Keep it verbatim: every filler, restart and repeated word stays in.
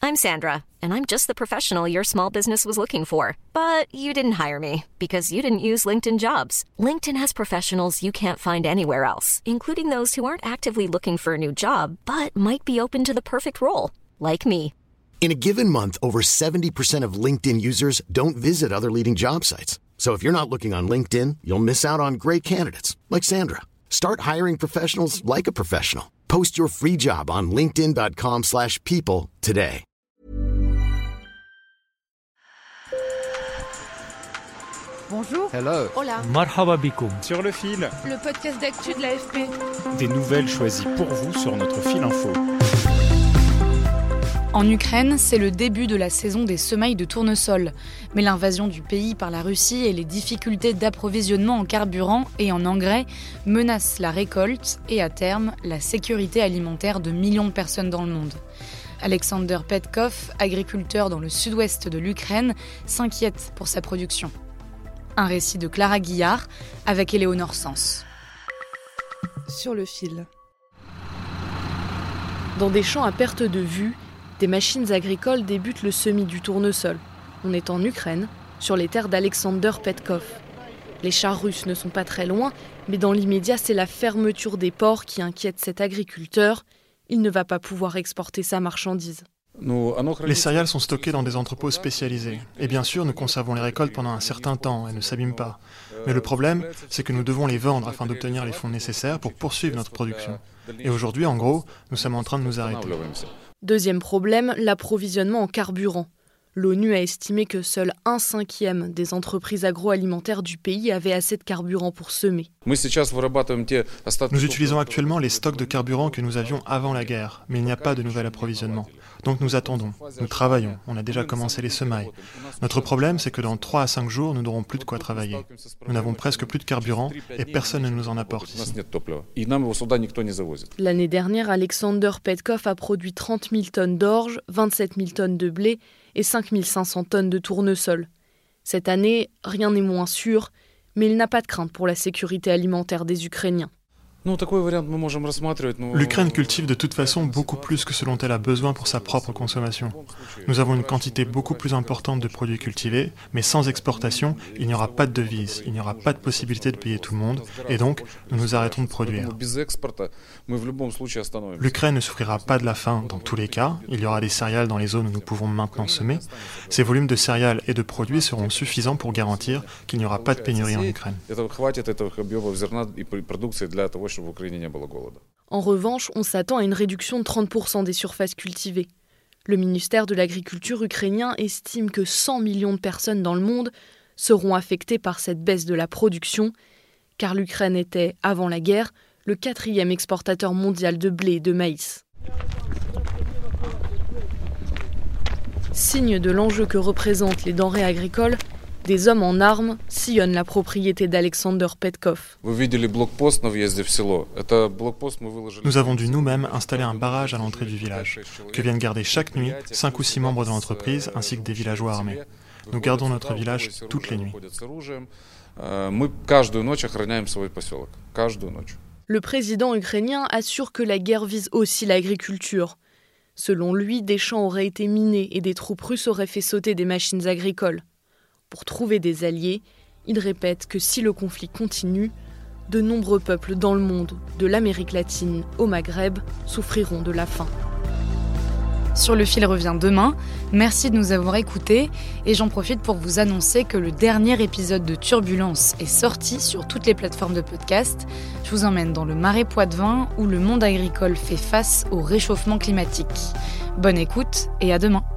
I'm Sandra, and I'm just the professional your small business was looking for. But you didn't hire me because you didn't use LinkedIn Jobs. LinkedIn has professionals you can't find anywhere else, including those who aren't actively looking for a new job, but might be open to the perfect role, like me. In a given month, over seventy percent of LinkedIn users don't visit other leading job sites. So if you're not looking on LinkedIn, you'll miss out on great candidates like Sandra. Start hiring professionals like a professional. Post your free job on linkedin dot com slash people today. Bonjour. Hello. Hola. Marhaba bikoum. Sur le fil. Le podcast d'actu de l'A F P. Des nouvelles choisies pour vous sur notre fil info. En Ukraine, c'est le début de la saison des semailles de tournesol. Mais l'invasion du pays par la Russie et les difficultés d'approvisionnement en carburant et en engrais menacent la récolte et, à terme, la sécurité alimentaire de millions de personnes dans le monde. Alexander Petkov, agriculteur dans le sud-ouest de l'Ukraine, s'inquiète pour sa production. Un récit de Clara Guillard avec Éléonore Sens. Sur le fil. Dans des champs à perte de vue, des machines agricoles débutent le semis du tournesol. On est en Ukraine, sur les terres d'Alexander Petkov. Les chars russes ne sont pas très loin, mais dans l'immédiat, c'est la fermeture des ports qui inquiète cet agriculteur. Il ne va pas pouvoir exporter sa marchandise. Les céréales sont stockées dans des entrepôts spécialisés. Et bien sûr, nous conservons les récoltes pendant un certain temps, elles ne s'abîment pas. Mais le problème, c'est que nous devons les vendre afin d'obtenir les fonds nécessaires pour poursuivre notre production. Et aujourd'hui, en gros, nous sommes en train de nous arrêter. Deuxième problème, l'approvisionnement en carburant. L'ONU a estimé que seul un cinquième des entreprises agroalimentaires du pays avaient assez de carburant pour semer. Nous utilisons actuellement les stocks de carburant que nous avions avant la guerre, mais il n'y a pas de nouvel approvisionnement. Donc nous attendons, nous travaillons, on a déjà commencé les semailles. Notre problème, c'est que dans trois à cinq jours, nous n'aurons plus de quoi travailler. Nous n'avons presque plus de carburant et personne ne nous en apporte ici. L'année dernière, Alexander Petkov a produit trente mille tonnes d'orge, vingt-sept mille tonnes de blé et cinq mille cinq cents tonnes de tournesol. Cette année, rien n'est moins sûr, mais il n'a pas de crainte pour la sécurité alimentaire des Ukrainiens. L'Ukraine cultive de toute façon beaucoup plus que ce dont elle a besoin pour sa propre consommation. Nous avons une quantité beaucoup plus importante de produits cultivés, mais sans exportation, il n'y aura pas de devise, il n'y aura pas de possibilité de payer tout le monde, et donc nous nous arrêtons de produire. L'Ukraine ne souffrira pas de la faim dans tous les cas, il y aura des céréales dans les zones où nous pouvons maintenant semer. Ces volumes de céréales et de produits seront suffisants pour garantir qu'il n'y aura pas de pénurie en Ukraine. En revanche, on s'attend à une réduction de trente pour cent des surfaces cultivées. Le ministère de l'Agriculture ukrainien estime que cent millions de personnes dans le monde seront affectées par cette baisse de la production, car l'Ukraine était, avant la guerre, le quatrième exportateur mondial de blé et de maïs. Signe de l'enjeu que représentent les denrées agricoles, des hommes en armes sillonnent la propriété d'Alexander Petkov. Nous avons dû nous-mêmes installer un barrage à l'entrée du village, que viennent garder chaque nuit cinq ou six membres de l'entreprise ainsi que des villageois armés. Nous gardons notre village toutes les nuits. Le président ukrainien assure que la guerre vise aussi l'agriculture. Selon lui, des champs auraient été minés et des troupes russes auraient fait sauter des machines agricoles. Pour trouver des alliés, il répète que si le conflit continue, de nombreux peuples dans le monde, de l'Amérique latine au Maghreb, souffriront de la faim. Sur le fil revient demain. Merci de nous avoir écoutés et j'en profite pour vous annoncer que le dernier épisode de Turbulence est sorti sur toutes les plateformes de podcast. Je vous emmène dans le Marais Poitevin où le monde agricole fait face au réchauffement climatique. Bonne écoute et à demain.